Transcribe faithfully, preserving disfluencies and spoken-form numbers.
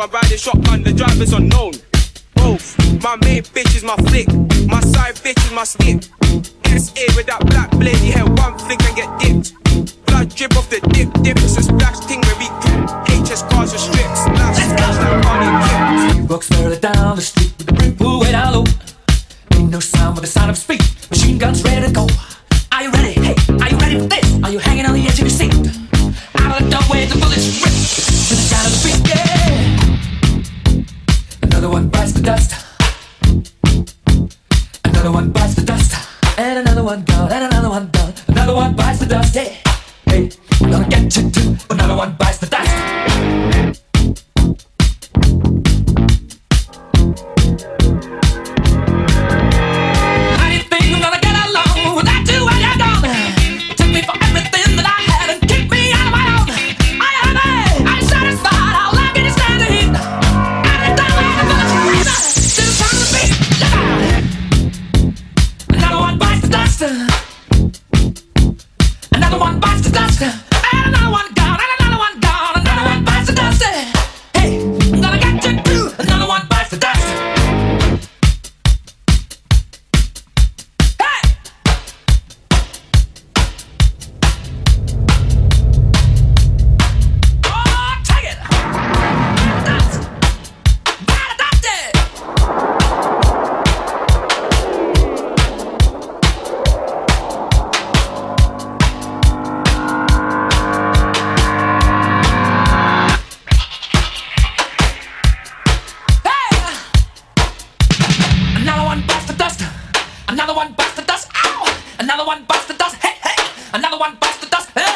I'm riding shotgun, the driver's unknown. Both, my main bitch is my flick, my side bitch is my stick. S A with that black blade, you hear one flick and get dipped. Blood drip off the dip, dip, it's a splash thing where we grip. H S cars are stripped, splash, splash like Cardi Kip. He walks further down the street with the brim pulled way down low. Ain't no sound but the sound of speed, machine guns ready to go. Are you ready? Hey, are you ready for this? Are you hanging on the edge of your seat? Out of the doorway, the bullets rip to the sound of the beat, yeah. Another one bites the dust. Another one bites the dust. And another one gone, and another one done. Another one bites the dust, yeah. Hey, I'm gonna get you too. Another one bites the dust. Another one bites the dust, and another one gone, and another one gone, another one bites the dust. Hey, I'm gonna get you too. Another one bites the dust. Hey! Oh, take it! Dust! Gotta dust it! Another one bites the dust, ow! Another one bites the dust, hey, hey! Another one bites the dust, hey!